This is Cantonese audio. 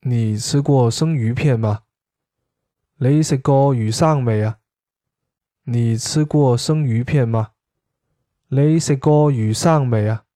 你吃过生鱼片吗？你食過魚生未啊？你吃過生魚片嗎？你食過魚生未啊？